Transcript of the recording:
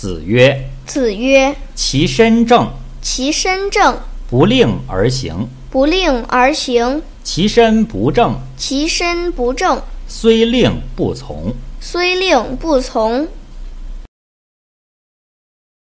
子曰： 子曰： 其身正， 其身正， 不令而行； 不令而行； 其身不正， 其身不正， 虽令不从。 虽令不从。